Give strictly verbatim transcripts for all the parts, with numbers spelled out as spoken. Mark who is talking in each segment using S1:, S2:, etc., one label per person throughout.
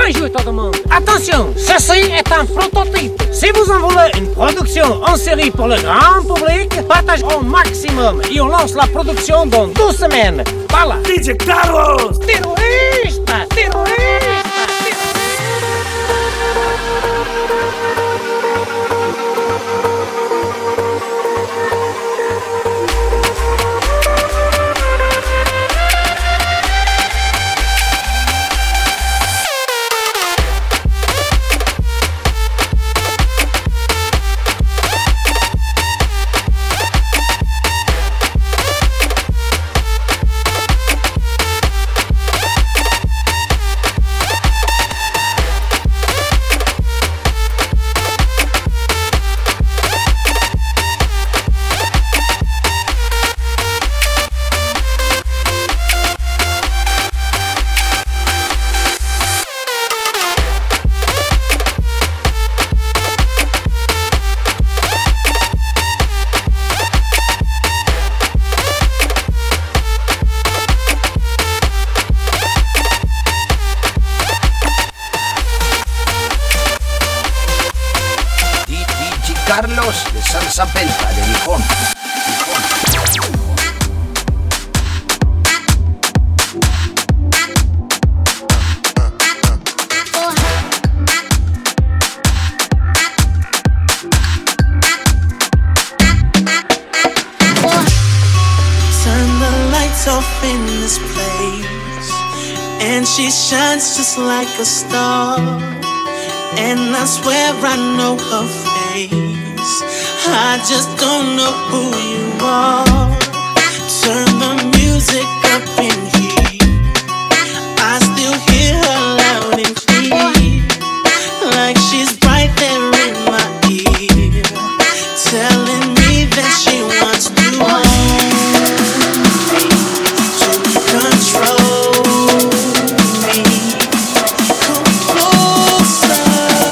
S1: Bonjour tout le monde. Attention, ceci est un prototype. Si vous en voulez une production en série pour le grand public, partagez au maximum et on lance la production dans deux semaines. Voilà.
S2: D J Carlos!
S1: Terrorista! Terrorista!
S3: Carlos de Salsa Pelta de Gijón.
S4: Turn the lights off in this place, and she shines just like a star. And I swear I know her face, I just don't know who you are. Turn the music up in here, I still hear her loud and clear, like she's right there in my ear, telling me that she wants to hold me, to control me. Come closer,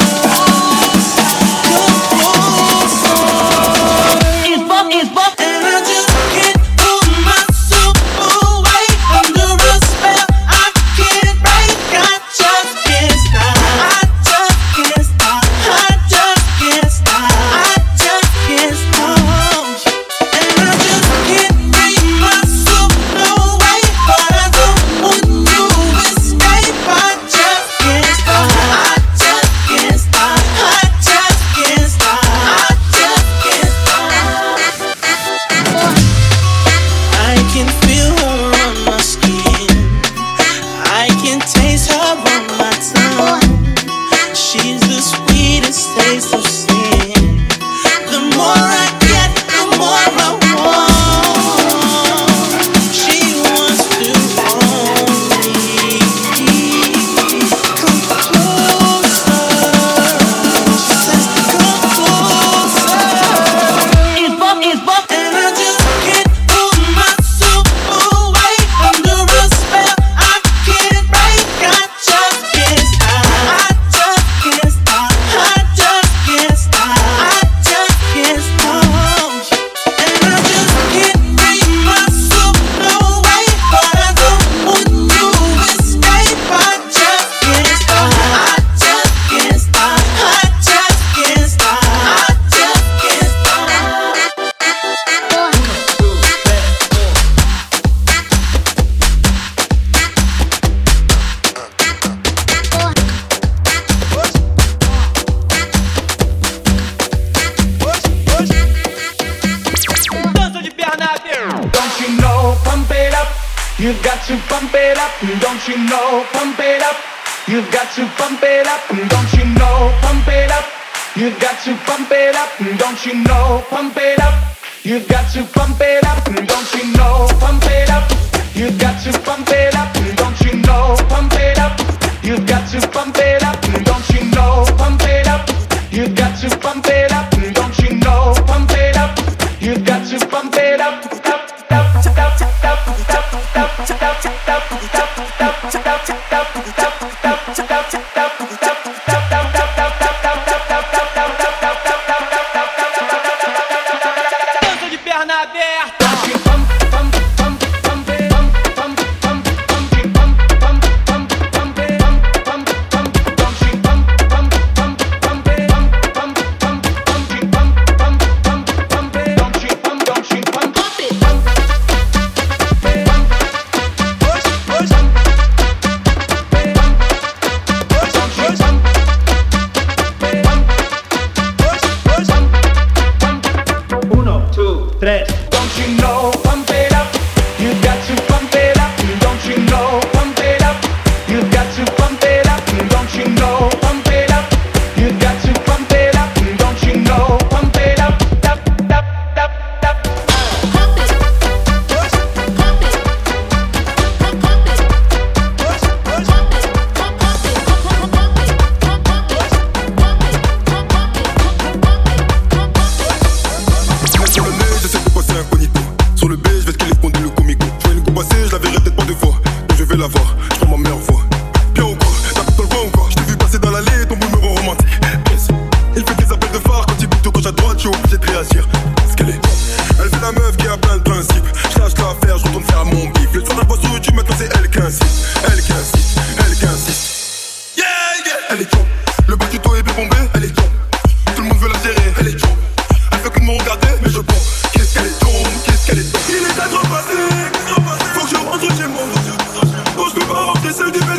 S4: come closer. It's Bob, it's Bob. And I just can't pull myself away under a spell I can't break. I just can't stop. I just can't stop. I just can't stop. I just can't stop. And I just can't bring myself away, but I don't want to escape. I just can't stop. I just can't stop. I just can't stop. I just can't stop. I can feel her on my skin, I can taste her on my tongue. She's the sweetest taste of sin. The more I get, the more I want. She wants to own me. Come closer. She says, come closer. It's Bob, it's Bob. And I just can't pull myself away under a spell I can't break. I just can't stop. I just can't stop. I just can't stop. I just can't stop. And I just can't bring myself away, but I don't want to escape. I just can't stop. I just can't stop. I just can't stop. I just can't stop.
S2: Don't you know, pump it up. You've got to pump it up. Don't you know, pump it up. You've got to pump it up. Don't you know, pump it up. You've got to pump it up. Don't you know, pump it up. You've got to pump it up. Don't you know, pump it up. You've got to pump it up. Don't you know, pump it up. You've got to pump it up. Don't you know, pump it up. You've got to pump it up. Don't you know, pump it up. You've got to pump it up.
S5: Dança de perna aberta.
S2: Pump, pump, pump, pump, pump, pump, pump, pump, pump, pump, pump, pump, pump,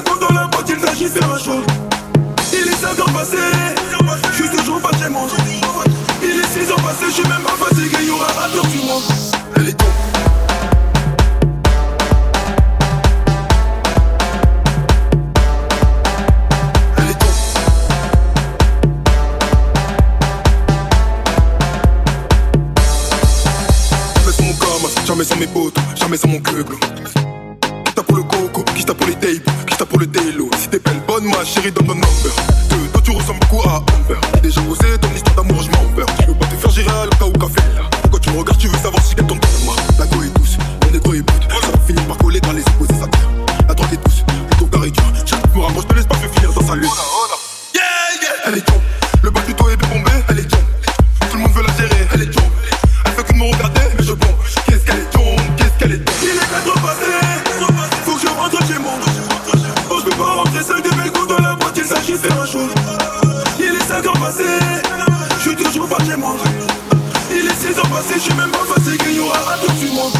S6: belles go dans la boîte, il s'agit de faire un show. Il est cinq ans passé, je suis toujours pas chez moi. Il est six ans passé, je suis même pas fatigué, y'aura un tour sur moi. Elle est top.
S7: Jamais sans mes potes, jamais sans mon club. Qui t'a pour le coco, qui t'a pour les tapes, qui t'a pour le délo. Si t'es belle, bonne ma chérie, donne ton number. Deux, toi tu ressembles beaucoup à Amber. Déjà osé ton histoire d'amour, je m'en perds. Je veux pas te faire gérer à l'Oka ou café là. Pourquoi tu me regardes, tu veux savoir si quelqu'un tombe moi. La go est douce, le négro est brut. Ça va finir par coller dans les opposés, ça tire. La droite est douce, le tour d'arrêt dur. Chaque me rapproche, je te laisse pas faire finir dans sa lutte. Yeah, yeah. Elle est jump, le bas du dos est bombé. Elle est jump, tout le monde veut la gérer. Elle est jump, elle fait que de me regarder, mais je bombe. Qu'est-ce qu'elle est jump, qu'est-ce qu'elle est jump.
S6: Il est quatre passé, faut que je rentre chez moi. Oh, je peux pas rentrer seul, des belles go dans la boîte, il s'agit de faire un show. Il est cinq ans passé, je suis toujours pas chez moi. Il est six ans passé, je suis même pas fatigué, y'aura un tour sur moi.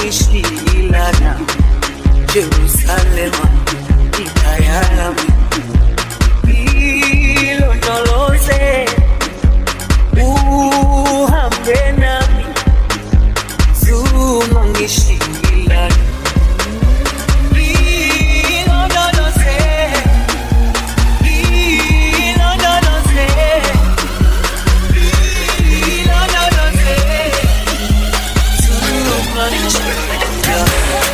S4: ungishilana Jerusalema itayalami ilondoloze uhambe nami zuma ungishilana ilondoloze ilondoloze ilondoloze zuma ungishilana.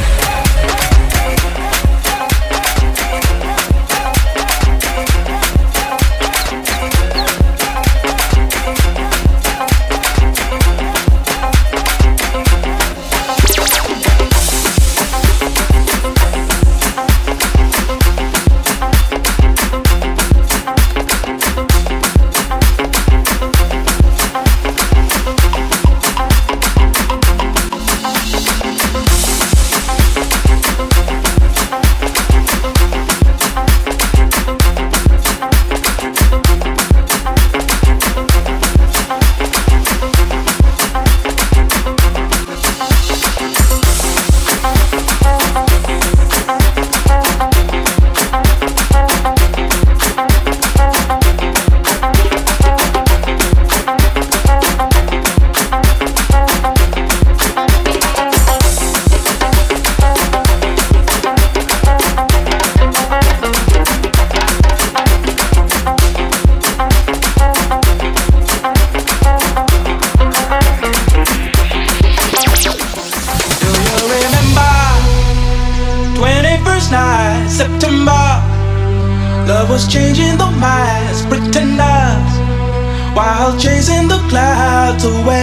S6: Changing the minds, pretenders, while chasing the clouds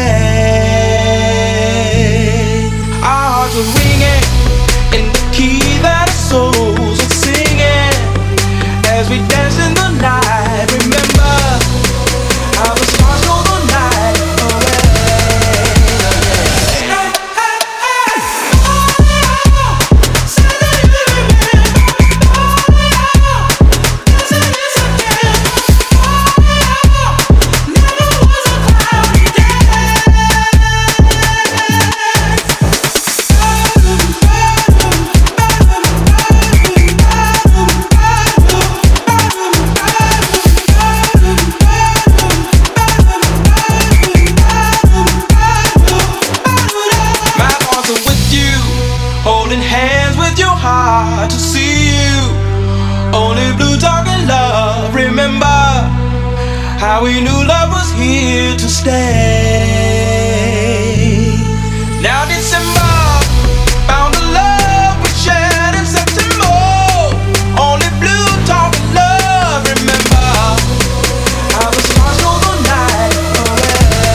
S6: away. Our hearts were ringing in the key that our souls were singing as we danced in the night. Remember how the stars stole the night away. To see you, only blue talking love. Remember how we knew love was here to stay. Now December found the love we shared in September. Only blue talking love. Remember how the stars stole the night away.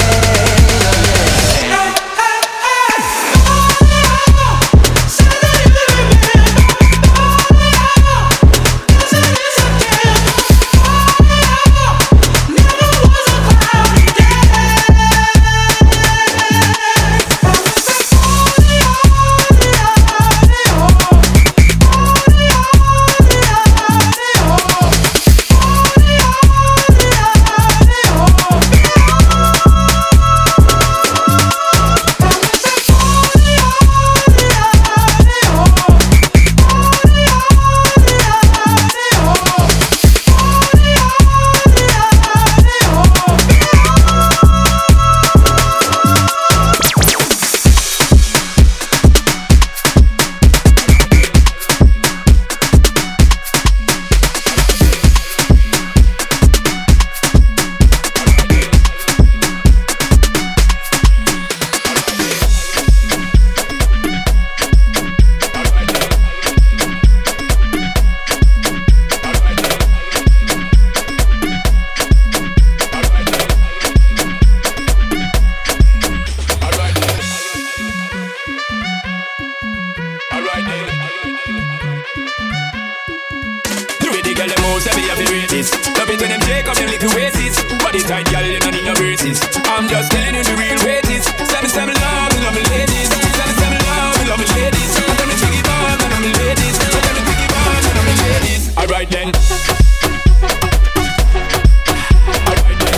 S6: I'm just telling you the real way it is. Stand and stand me love, me love me ladies. Stand and stand me love, me love me ladies. Tell me jiggy bone, me love me ladies. Tell me jiggy bone, me love me ladies. Alright then. Alright then.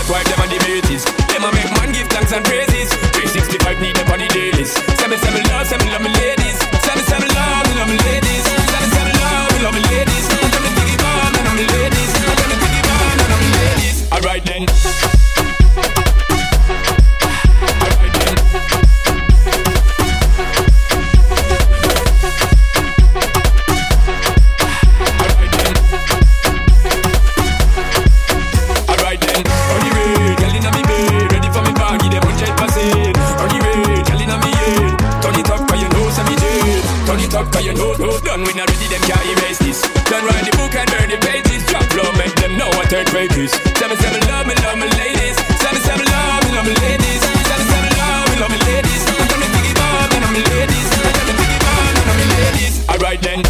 S6: wife them and the mates. Them a make man give thanks and praises. three sixty-five need them on the dailies. Say me, say me love, say me love me ladies. Say me, say me love, me love me ladies. Say me, say me love, me love me ladies. Tell me think it on, and I'm me ladies. Tell me think it on, and I'm me ladies. Alright then. Cause you know, no, done when I ready, them can't erase this. Done write the book and burn the pages. Drop low, make them know what third grade is. Seven, seven, love me, love me, ladies. Seven, seven, love me, love me, ladies. Seven, seven, love me, love me, ladies. Tell me think it on, and I'm me ladies. Tell me think it on, and I'm me ladies. Alright then.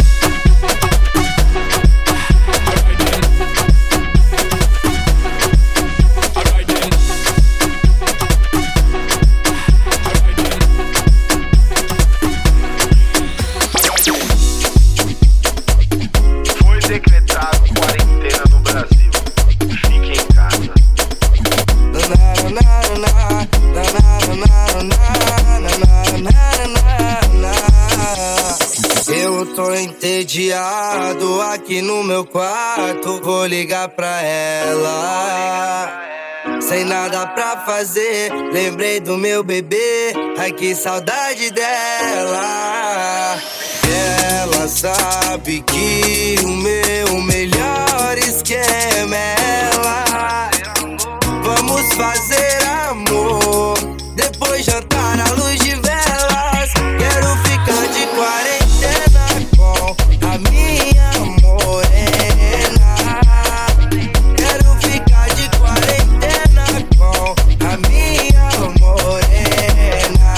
S8: Entediado aqui no meu quarto, vou ligar pra ela. Sem nada pra fazer, lembrei do meu bebê. Ai que saudade dela. Ela sabe que o meu melhor esquema é ela. Vamos fazer amor, depois jantar à luz de velas. Quero ficar de quarentena com a minha morena. Quero ficar de quarentena com a minha morena.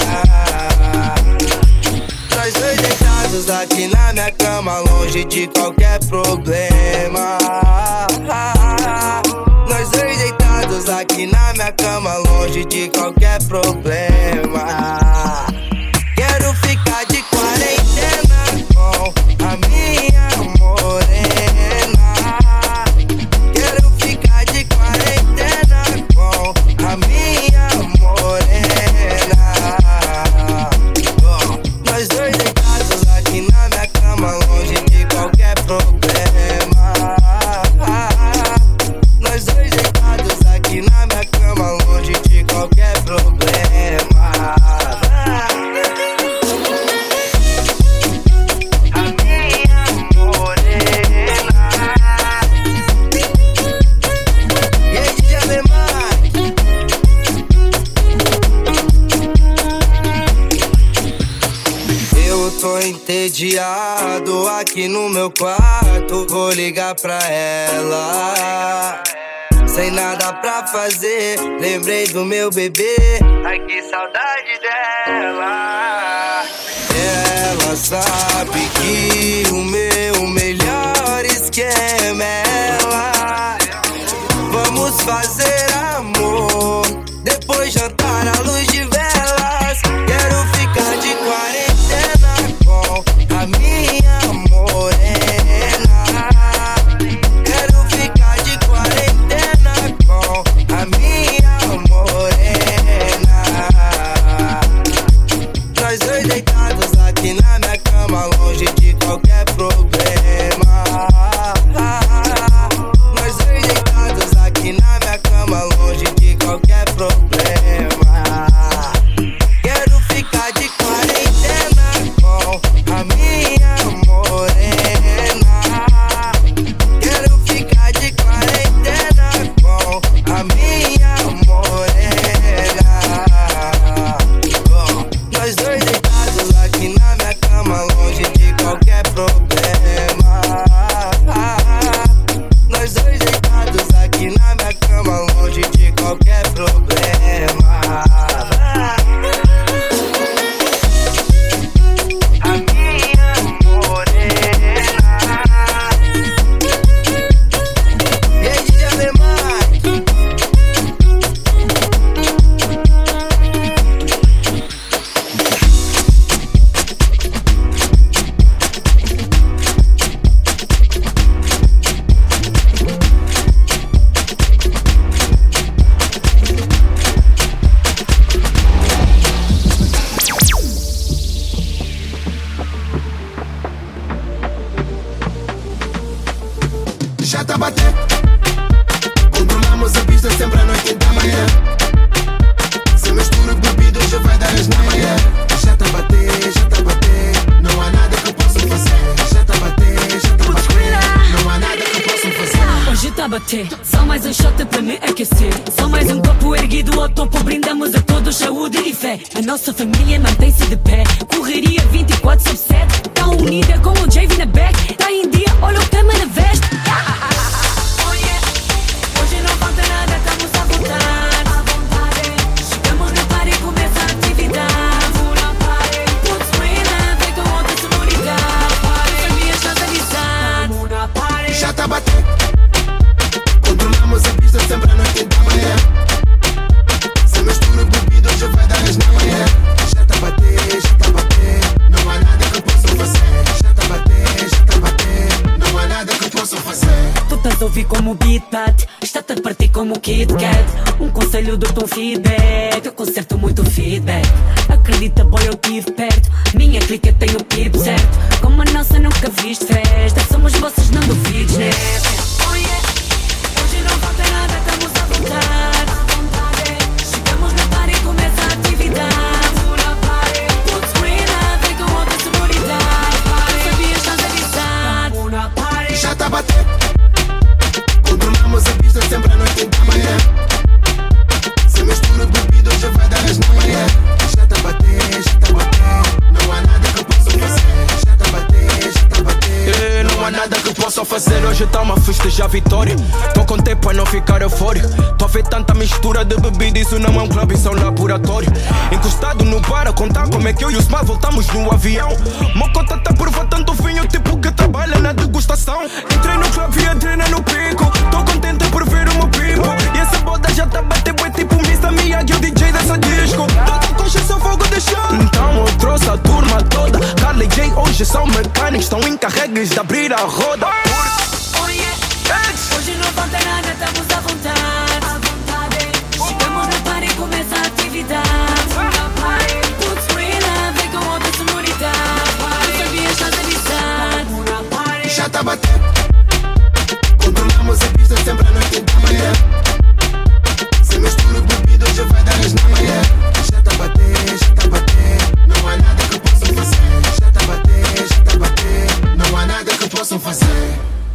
S8: Nós dois deitados aqui na minha cama, longe de qualquer problema. Nós dois deitados aqui na minha cama, longe de qualquer problema. Quero ficar de quarentena com a minha morena. Quero ficar de quarentena com a minha morena. Oh. Nós dois deitados aqui na minha cama, longe de qualquer problema. Nós dois deitados aqui na minha cama, longe de qualquer problema. Tô entediado aqui no meu quarto, vou ligar pra ela. Sem nada pra fazer, lembrei do meu bebê. Ai que saudade dela. Ela sabe que o meu melhor esquema é ela. Vamos fazer amor, depois jantar à luz de velas. Quero ficar de quarentena com a minha morena. Quero ficar de quarentena com a minha morena. Nós dois deitados aqui na minha cama, longe de
S9: bater. Só mais um shot para me aquecer. Só mais um copo erguido ao topo. Brindamos a todos saúde e fé. A nossa família mantém-se de pé. Correria vinte e quatro sobre sete. Tá unida com o J V na back. Tá em dia, olha o tema na veste. Oh yeah. Hoje não falta nada, estamos à vontade. Chegamos no par e começa a atividade. Putz, menina, vem com outra sonoridade. Sabia, chance amizade.
S10: Já tá batendo. Controlamos a pista sempre à noite da manhã. Se mistura bebido, hoje vai dar as na manhã. Já tá bater, já tá bater. Não há nada que eu possa fazer. Já tá bater, já tá bater. Não há nada que eu possa fazer.
S9: Tu estás a ouvir como o beat bate. Está-te a partir como o Kit Kat. Um conselho do teu feedback. Eu conserto muito feedback. Acredita, boy, eu tive perto. Minha clica tem o pip certo. Como a nossa nunca viste festa. Somos vocês, não duvides, né? Oh yeah. Hoje não falta nada, estamos à vontade. Chegamos no par e começa a atividade. Putz, menina, vem com outra sonoridade. Sabias, estás avisado.
S10: Já tá batendo. Controlamos a pista sempre à noite da manhã. Se mistura bebido, hoje vai dar as na manhã. Já tá bater, já tá bater. Não há nada que eu possa fazer. Já tá bater, já tá bater.
S11: Não há nada que eu possa fazer. Hoje tá uma festejar a vitória. Tô com tempo pra não ficar eufórico. Tô a ver tanta mistura de bebida. Isso não é um clube, isso é um laboratório. Encostado no bar a contar como é que eu e o Smart voltamos no avião. Mocota tá por tanto vinho, tipo que trabalha na degustação. Entrei no clube e entrei no pico. Tô contente por ver o meu people. E essa boda já tá batendo, é tipo Mister Miyagi, o D J dessa disco. Todo coxa só fogo de chão. Então eu trouxe a turma toda. Carla e Jay hoje são mecânicos. Estão encarregues de abrir a roda.
S9: Oh yeah. Hoje não falta nada, estamos à vontade. Chegamos no par e começa a atividade. Putz, menina, vem com outra sonoridade. Sabias, estás avisado.
S10: Já tá batendo. Controlamos a pista sempre à noite da manhã. Se mistura bebido, hoje vai dar as na manhã. Já tá bater, já tá bater. Não há nada que eu possa fazer. Já tá bater, já tá bater. Não há nada que eu possa fazer.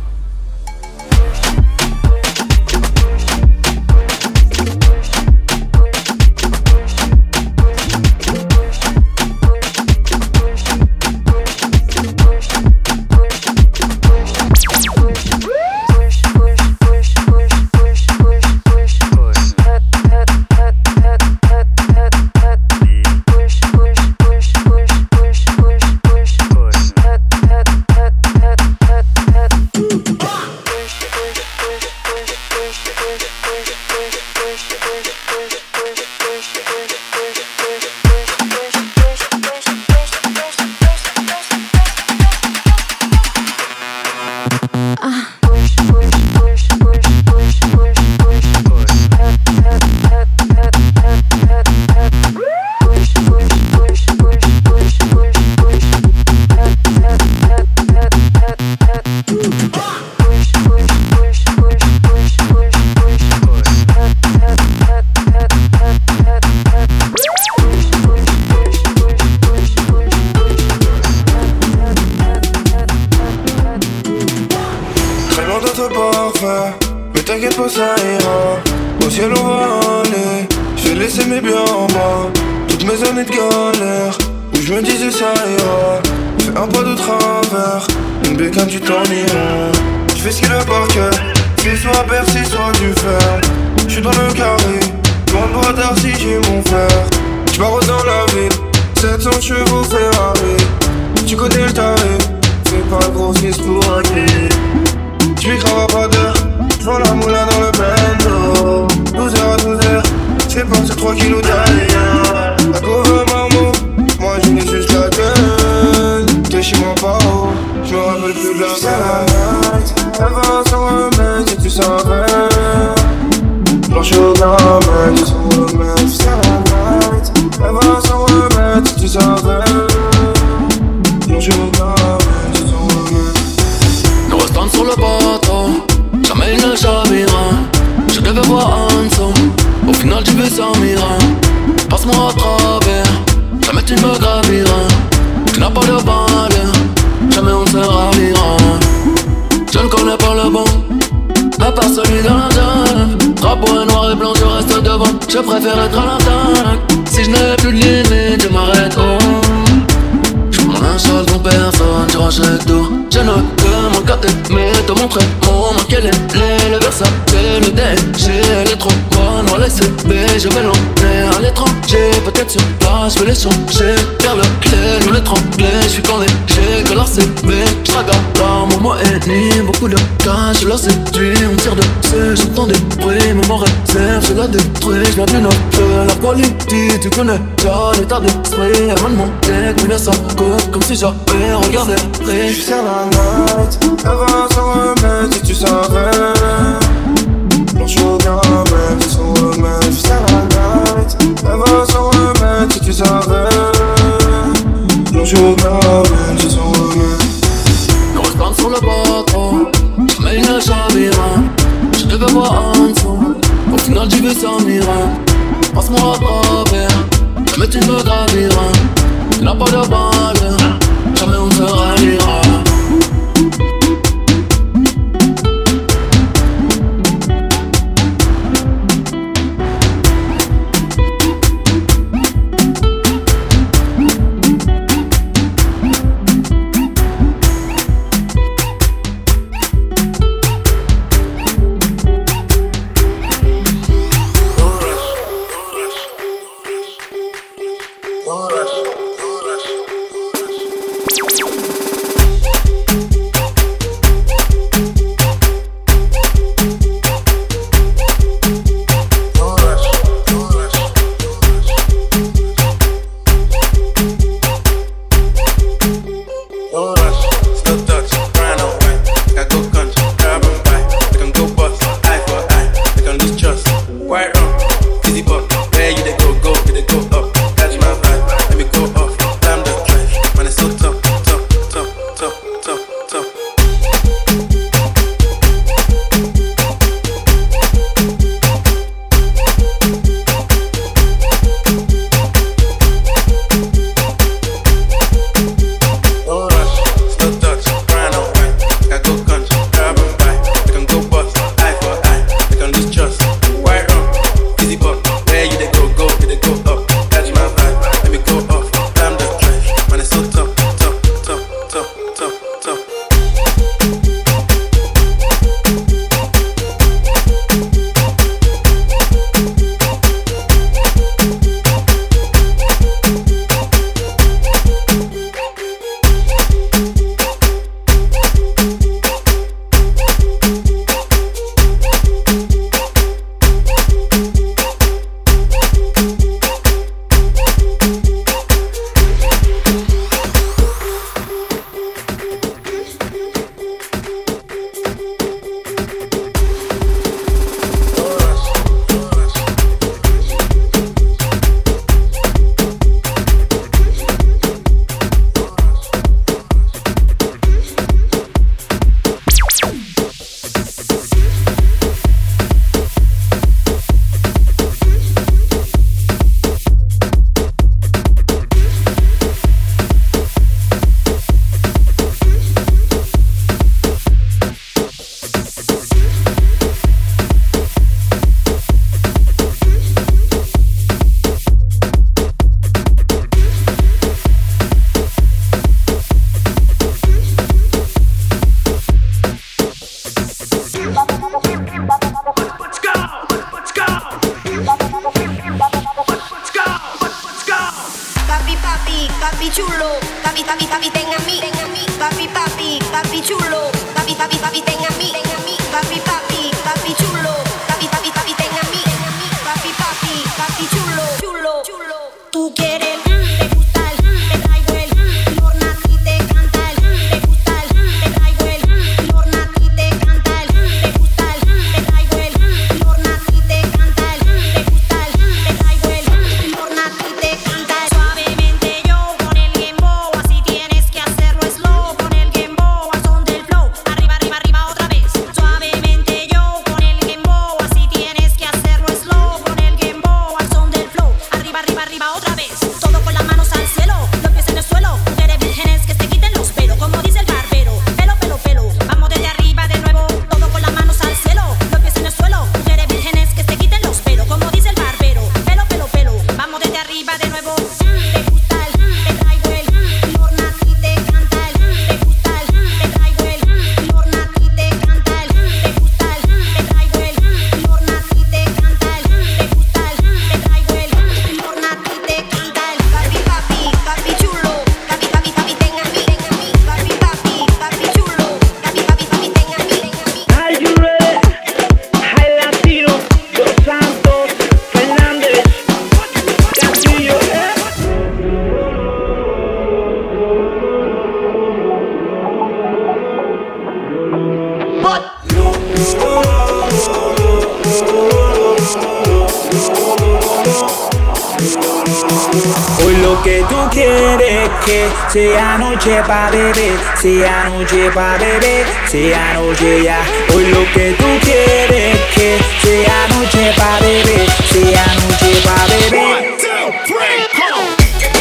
S12: Nous restons sur le bateau, jamais il ne chavira. Je devais voir en dessous, au final tu veux sans mira. Passe-moi à travers, jamais tu me graviras. Tu n'as pas de balle, jamais on se ravira. Je ne connais pas le bon, la part celui de la jungle. Drapeau est noir et blanc, je reste devant. Je préfère être à l'attaque. Si je n'ai plus de limite, je m'arrête, oh. Mon linge sale dont personne, tu rachètes tout. Je ne demande qu'à t'aimer, te montrer mon quel est le Versace, le D G, elle est trop bonne, on laisse B, je vais l'emmener à l'étranger, peut-être sur place, je vais les changer, car le clé, nous l'étrangler, je suis quand léger, que leur C B, je regarde là, mon mot est ni, beaucoup de cash, je leur séduis, on tire dessus, j'entends des bruits, mais mon réserve, je la détruis, je viens du nord de la politique, tu connais déjà l'état d'esprit, avant de monter, combien ça coûte, comme si j'avais regardé,
S13: je suis sur la night, elle va s'en remettre si tu savais. Blanche au bien même si s'en remettre. Je suis sur la night, elle va s'en remettre si tu savais. Blanche au bien même si s'en remettre.
S12: Nous restons sur le bateau, jamais il ne chavira. Je devais voir en dessous, au final j'y vais sans mira. Passe-moi à travers, jamais tu me graviras. Il n'a pas de balle, jamais on se ralliera.
S14: Arriba, arriba, arriba, Hoy lo que tú quieres que sea noche pa' beber, sea noche pa' beber, sea noche ya. Hoy lo que tú quieres que sea noche pa' beber, sea noche pa' beber. One, two, three, come on.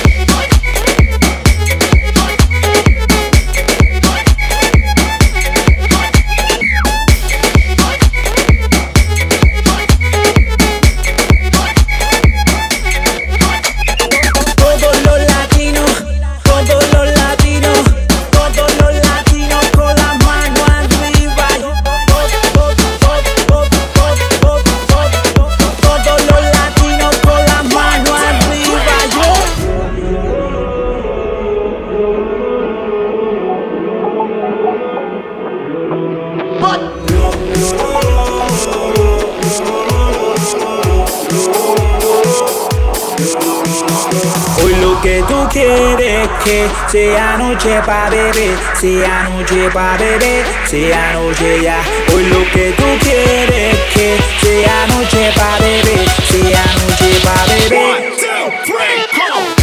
S14: Que tú quieres que sea noche pa' beber, sea noche pa' beber, sea noche ya. Hoy lo que tú quieres que sea noche pa' beber, sea noche pa' beber. One, two, three, come on.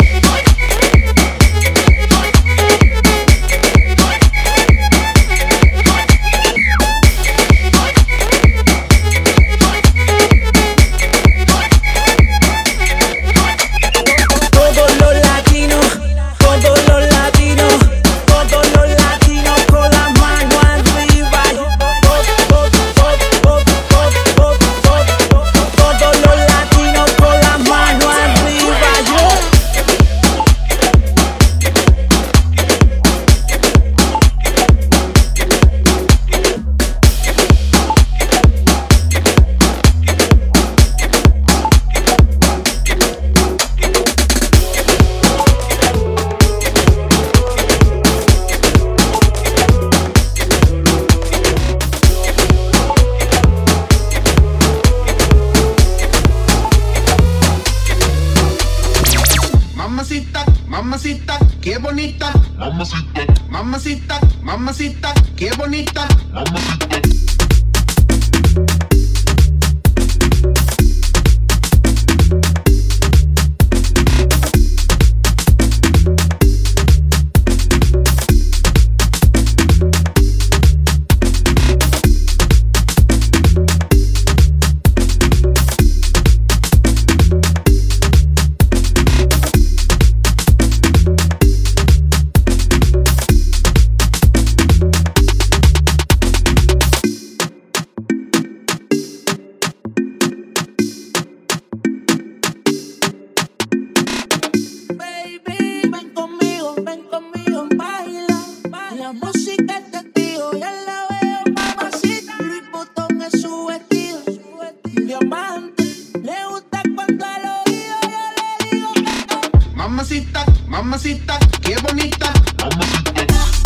S15: Mamacita, qué bonita. Mamacita, mamacita, mamacita, qué bonita. Mamacita. Mamacita, mamacita, qué bonita. Mamacita.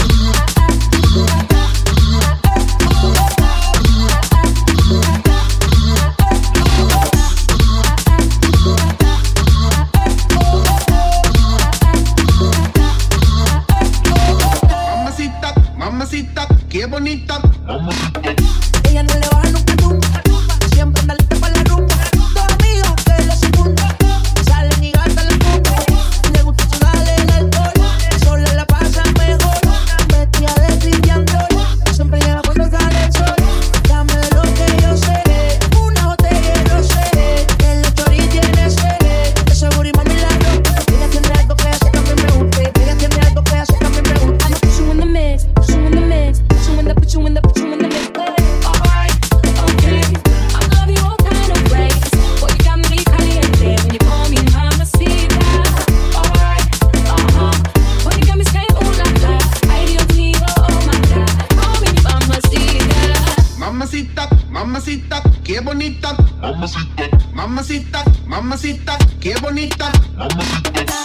S15: Mamacita, mamacita, qué bonita. Mamacita.
S16: Ella no le baja nunca nunca, siempre anda lista para la rumba. Dos amigos que lo secundan, salen y gastan la punta. Le gusta sudar el alcohol, sola la pasa mejor. Vestida de Christian Dior, siempre llega cuando sale el sol. Dame de lo que yo sé, una botella de rosé, que la chori tiene sed, de seguro y mami la rompe. Ella tiene algo que hace que a mí me guste, ella tiene algo que hace que a mí me guste. I'ma put you in the mix, put you in the mix, put you in the, put you in the, put you in the mix. Alright, okay, I love you all kind of ways. Boy, you got me caliente when you call me mamacita. Alright, uh-huh, boy, you got me saying ooh la la. Ay, Dios mío, oh my God, call me mamacita.
S15: Mamacita, mamacita, qué bonita. Mamacita, mamacita, mamacita, qué bonita. Mamacita.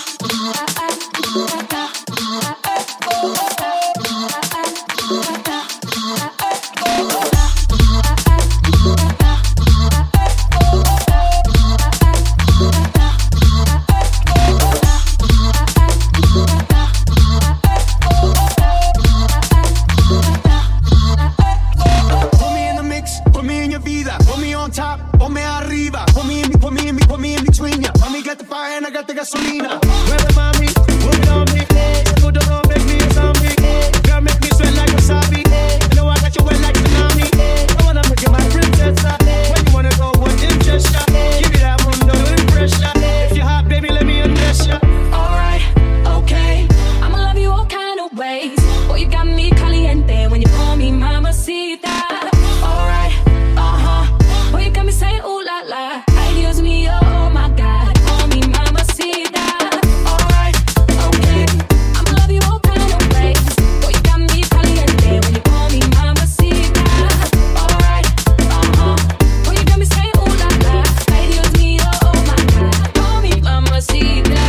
S11: Put me in the mix, put me in your vida. Put me on top, put me arriba. Put me in, put me in, put me in between ya. Let me get the fire and I got
S15: pagarte gasolina. Mueve mami, move it on me. You don't make me a zombie. Girl, make me sweat like wasabi. You know I got you wet like tsunami. I wanna make you my princess. When you wanna go, what interest ya? Give me that mundo, no pressure. If you're hot, baby, let me undress ya.
S9: Alright, okay. I'ma love you all kind of ways. Boy, you got me caliente when you call me mamacita. Alright, uh-huh. Boy, you got me saying ooh la la. Ay, Dios mío, oh my God. Call me mamacita. Alright, okay. I'ma love you all kind of ways. Boy, you got me caliente when you call me mamacita. Alright, uh-huh. Boy, you got me saying ooh la la. Ay, Dios mío, oh my God. Call me mamacita.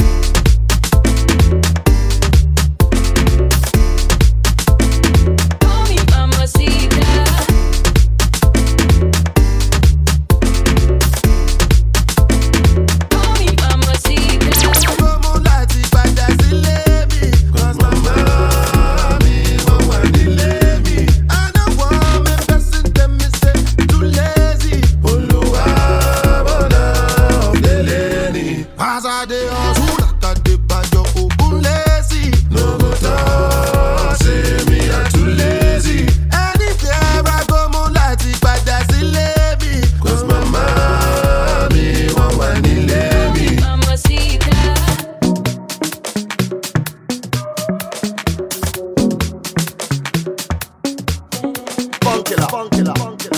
S9: Call me mamacita. Call me mamacita.
S10: Como láti padà sílé mi, 'cause mama mi wọ́n wà nílé mi. I no want me person tell me say too lazy. Olúwa bọ̀nà ọ̀dẹ́lẹ̀ ni. As I dey hustle, like I dey banjo ogun lazy. No go talk say me I too lazy. Anywhere I go, mo láti padà sílé mi, 'cause mama mi wọ́n wà nílé mi.
S9: Mamacita.
S10: Funkilla, funkilla, funkilla,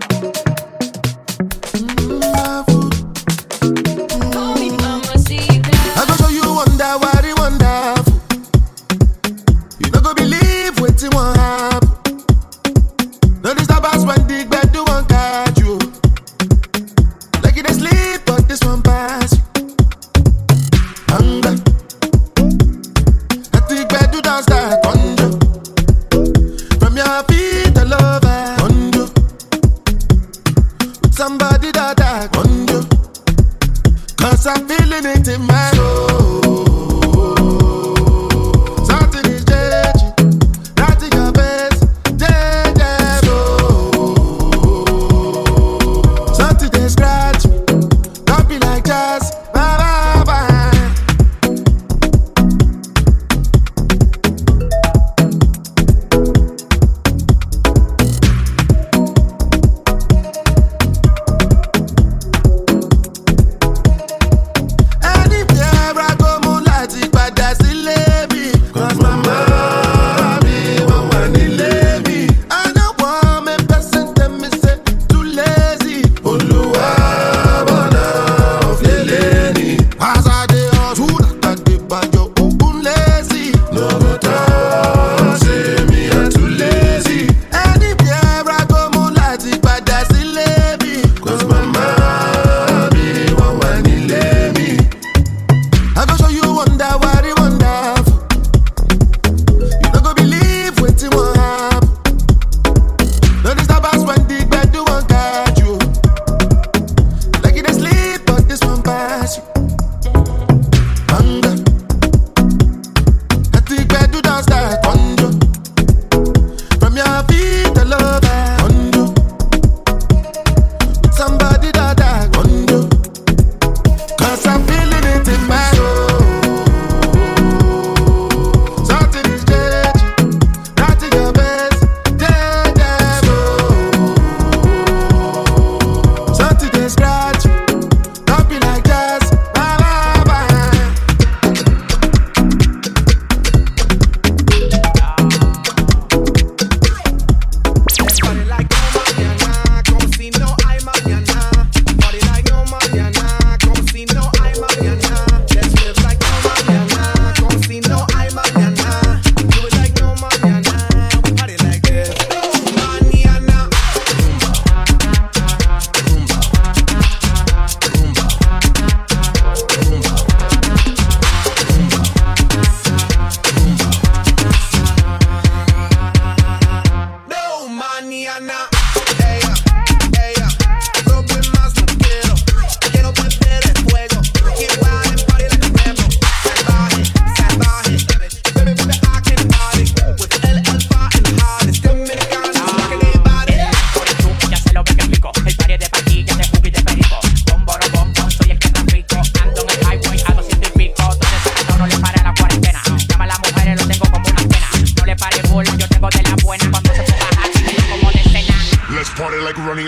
S9: Call me mamacita.
S10: I go show you wonder, what it wonderful. You no go believe wetin wan happen. No disturb us when the gbedu wan catch you. Like you dey sleep, but this one pass you. Hunger. Let the gbedu don start conjure. From your feet all over conjure. With somebody that I conjure. 'Cause I'm feeling it in my soul. Something is changing, right in your face, change something they scratch me, don't be like jazz, bye bye bye. Anywhere I go, mo láti padà sílé mi, 'cause mama mi wọ́n wà nílé mi. I no want me person tell me say too lazy. Olúwa bọ̀nà ọ̀flẹ̀lẹ̀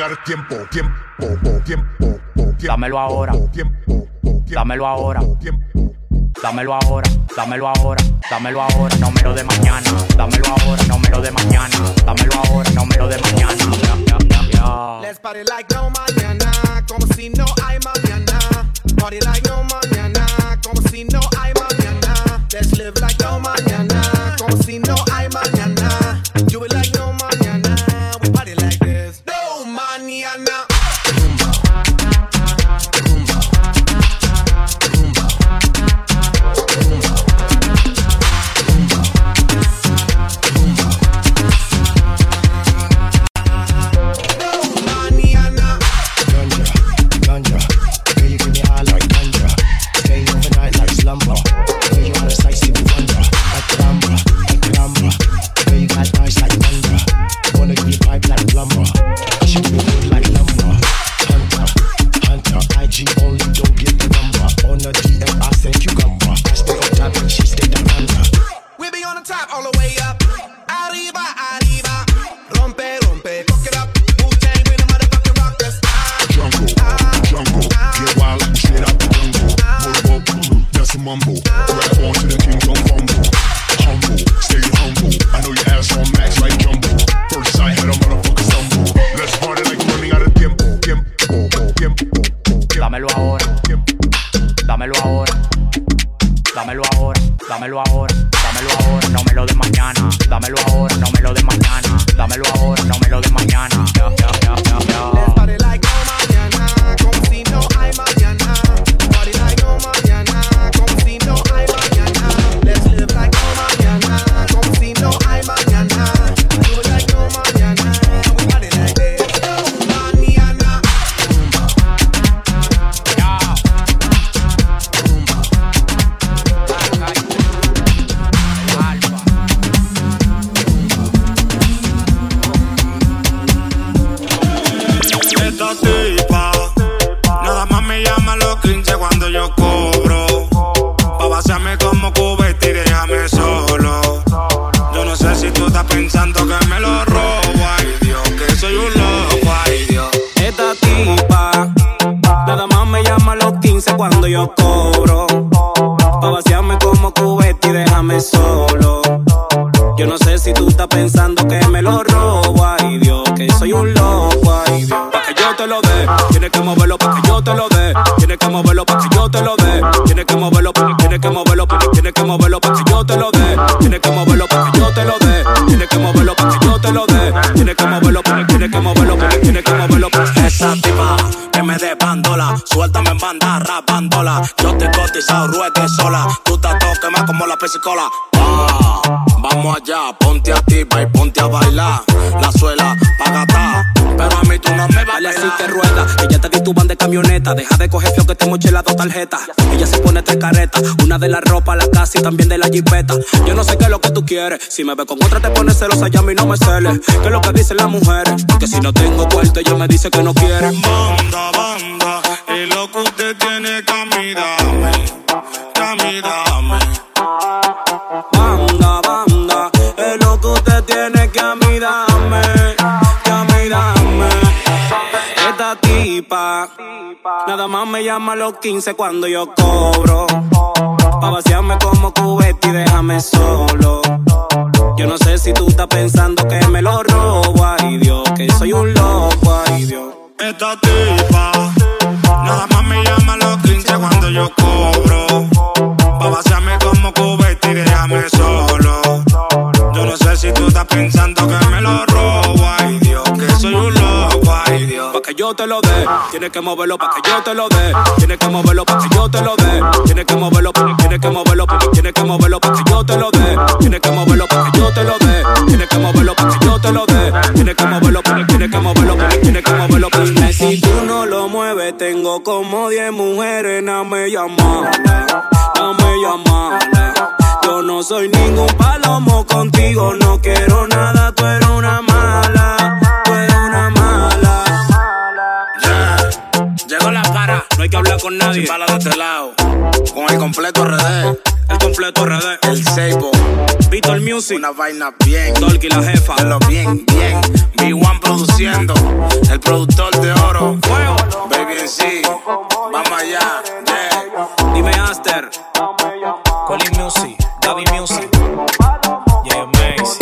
S7: ahora tiempo, tiempo, tiempo, tiempo.
S17: Dámelo ahora,
S7: tiempo,
S17: dámelo ahora, dámelo ahora, dámelo ahora, dámelo ahora, no me lo de mañana, dámelo ahora, no me lo de mañana, dámelo ahora, no me lo de mañana. Yeah, yeah, yeah, yeah.
S18: Let's party like no mañana, como si no hay mañana. Party like no mañana, como si no hay mañana. Let's live like no mañana, como si no hay mañana. Do it like no mañana, we party like this. No mañana.
S19: Pesicola. Ah, vamos allá, ponte a ti, y ponte a bailar. La suela, pagata, pero a mí tú no me vales.
S20: Así que rueda, ella te tituban de camioneta. Deja de coger fio que te moche las dos tarjetas. Ella se pone tres caretas, una de la ropa, la casa y también de la jipeta. Yo no sé qué es lo que tú quieres. Si me ves con otra te pones celosa, ya a mí no me celes. ¿Qué es lo que dicen las mujeres? Que si no tengo cuarto ella me dice que no quiere.
S19: Banda, banda, es lo que usted tiene que a mí dame, que a mí dame.
S20: Banda, banda, es lo que usted tiene que a mí dame, que a mí dame. Esta tipa, nada más me llama a los quince cuando yo cobro. Pa' vaciarme como cubeta y déjame solo. Yo no sé si tú estás pensando que me lo robo, ay Dios, que soy un loco, ay Dios.
S19: Esta tipa, nada más me llama a los quince cuando yo cobro. Pa' vaciarme como cubeta y déjame solo. Yo no sé si tú estás pensando que me lo robo, ay Dios, que soy un loco, ay Dios.
S20: Pa' que yo te lo dé, tienes que moverlo pa' que yo te lo dé. Tienes que moverlo pa' que yo te lo dé. Tienes que moverlo, tienes que moverlo, tienes que moverlo pa' que yo te lo dé. Tienes que moverlo pa' que yo te lo dé. Tienes que moverlo pa' que yo te lo dé. Tienes que moverlo, tienes que moverlo, tienes que moverlo. Dime si tú no lo mueves, tengo como diez mujeres, dame llamar, dame llamar. Yo no soy ningún palomo contigo, no quiero nada, tú eres una mala, tú eres una mala.
S19: Yeah. Llegó la para,
S20: no hay que hablar con nadie.
S19: Sin bala de este lado, con el completo R D.
S20: el completo R D.
S19: El Seibo,
S20: Víctor Music,
S19: una vaina bien.
S20: Dolky la jefa,
S19: de lo bien, bien. B uno produciendo, el productor de oro.
S20: Fuego.
S19: Baby en sí, vamos allá, yeah.
S20: Dime Aster, Colin Music, Gaby Music, yeah, Macy.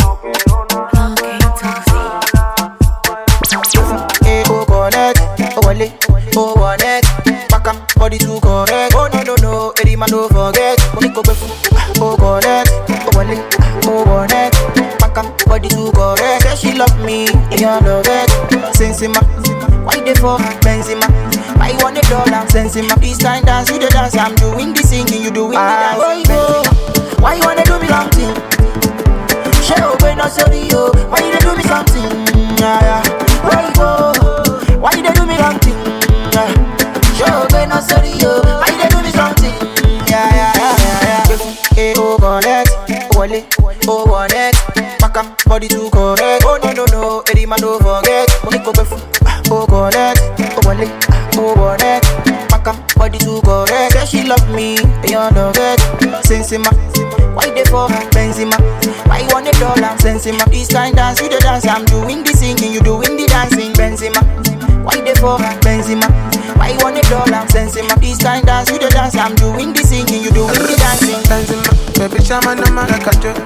S21: Hey, oh, connect, oh, wale, oh, connect. Back up, body to correct. Oh, no, no, no, every man don't forget. Money go befu, oh, connect, oh, wale, oh, connect. Back up, body to correct. Say she love me, and you love it. Sensima, why they for Benzema? Why you want a dollar? Sensima, this kind dance, you the dance. I'm doing the singing, you doing the dance. Benzema, why you wanna do me something? Show when I sorry, yo. Why you do me something? Yeah, yeah. Why you go? Why you do me something? Yeah. Show when I sorry, yo. Why you do me something? Yeah, yeah, yeah, yeah, yeah. Hey, oh, connect, oh, wale, oh, connect. Back up, body to correct. Oh, no, no, no, every man don't forget. Money go befu, oh, connect, oh, wale, oh, connect. Back up, body to correct. Say she love me, and you love it. Sensima, why they for Benzema? Why you want a dollar? Sensima, this kind dance, you the dance. I'm doing the singing, you doing the dancing. Benzema, why they for Benzema? Why you want a dollar? Sensima, this kind dance, you the dance. I'm doing the singing, you doing the dancing.
S13: Benzema, baby, shaman, no man, I got you.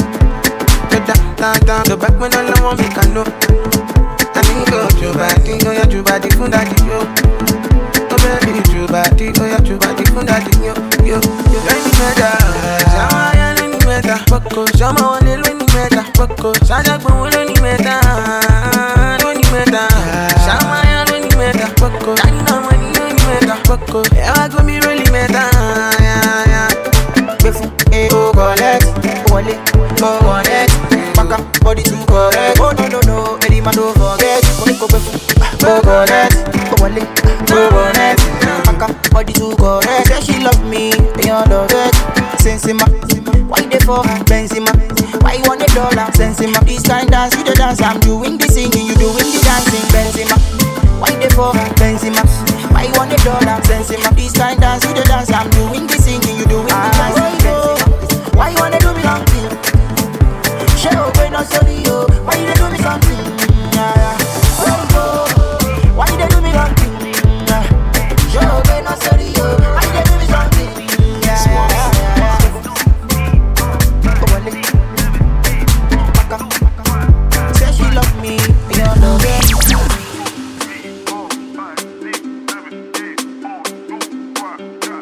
S13: Down, down, down, the back when all I want me can know. I think go to body, go ya to body, fun daddy yo. Oh baby, to body, go ya to body, fun daddy yo, yo, yo. Any matter, shama ya any matter, poko, shama one little any matter, poko, shama one any matter, any matter, shama ya any matter, poko, shama no money any matter, poko. Yeah, go me really matter, yeah, yeah.
S21: Befu, eh, oh, connect, oh, wale, oh, connect. Back up, body to correct. Oh, no, no, no, every man don't forget. Money go befu, oh, connect, oh, wale, oh, connect. Back up, body to correct. Say she love me, and you love it. Sensima, why they for Benzema? Why you want a dollar? Sensima, this kind dance, you the dance. I'm doing the singing, you doing the dancing. Benzema, why they for Benzema? Why you want a dollar? Sensima, this kind dance, you the dance. I'm doing the singing, you doing the dancing. Benzema, why you wanna do me something? Show when I sorry, yo. Why you do me something? Yeah, yeah. Why you go? Why you do me something? Yeah. Show when I sorry, yo. Why you do me something? Yeah, yeah, yeah, yeah. Oh, wale. Back up. Say she love me, you love it.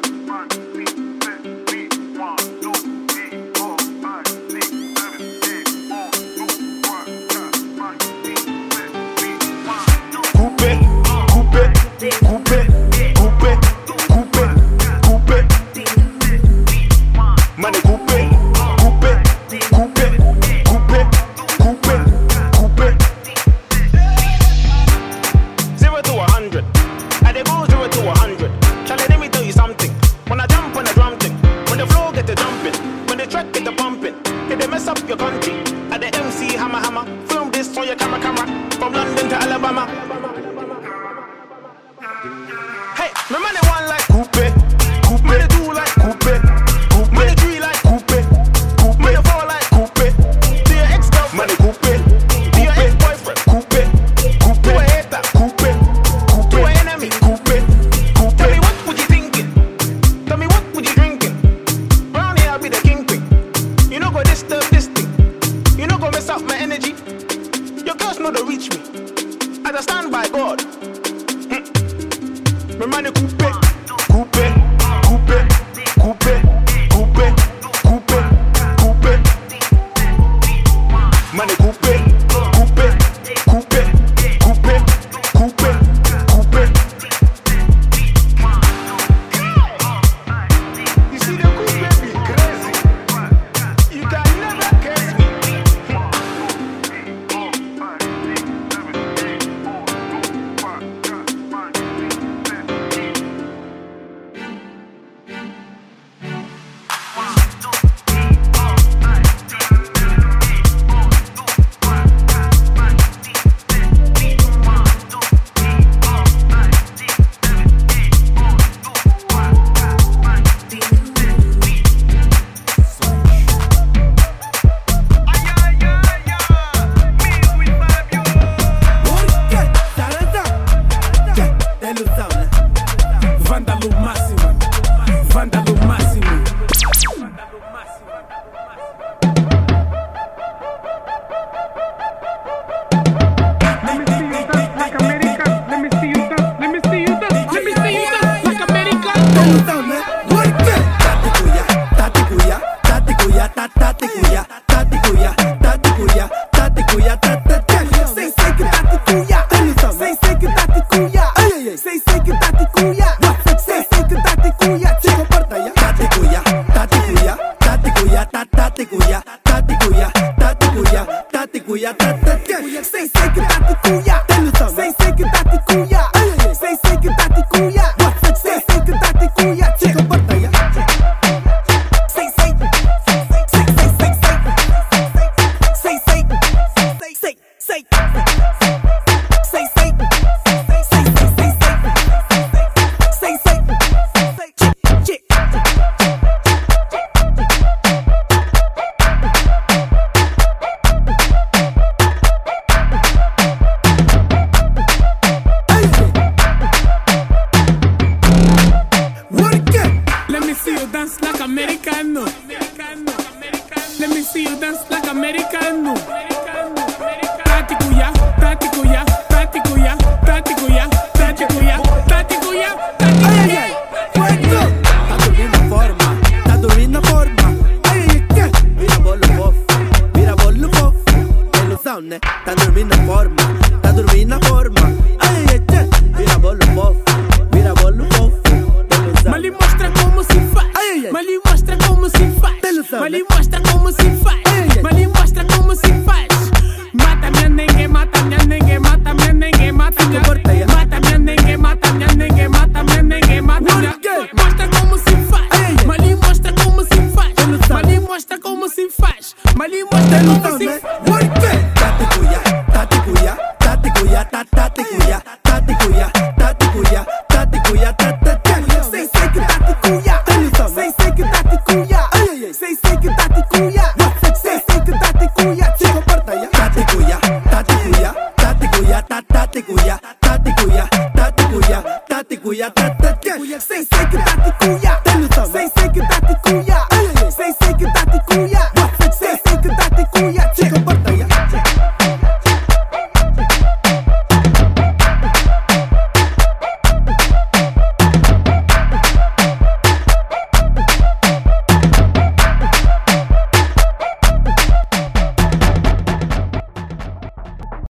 S1: me see you dance like Americano. Let me see you dance like Americano. Tático ya, tático ya, tático ya, tático ya, tático ya, tático ya, tático ya.
S22: Tá dormindo na forma, tá dormindo na forma. Ai, ai, ai, vira bolo fofo, vira bolo fofo. Ilusão, né? Tá dormindo na forma, tá dormindo na forma. Ai, ai, ai, vira bolo fofo, vira bolo fofo.
S1: Mas lhe mostra como se faz. Mas lhe mostra como se faz. Mas lhe mostra como se faz. Mas lhe mostra como se faz. Mata minha nengue, mata minha nengue, mata minha nengue, mata minha nengue, mata minha nengue, mata minha nengue, mata minha nengue, mata minha. Mostra como se faz. Mas lhe mostra como se faz. Mas lhe mostra como se faz. Mas lhe mostra como se faz.
S22: Tatikuya, tatikuya, tatikuya, tatikuya, tatikuya, tatikuya, tatikuya, tatikuya. Sei sei que tatikuya, sei sei que tatikuya, sei sei que tatikuya, sei sei que tatikuya. Se comporta ya. Tatikuya, tatikuya, tatikuya, tatikuya, tatikuya, tatikuya, tatikuya, tatikuya. Sei sei que tatikuya.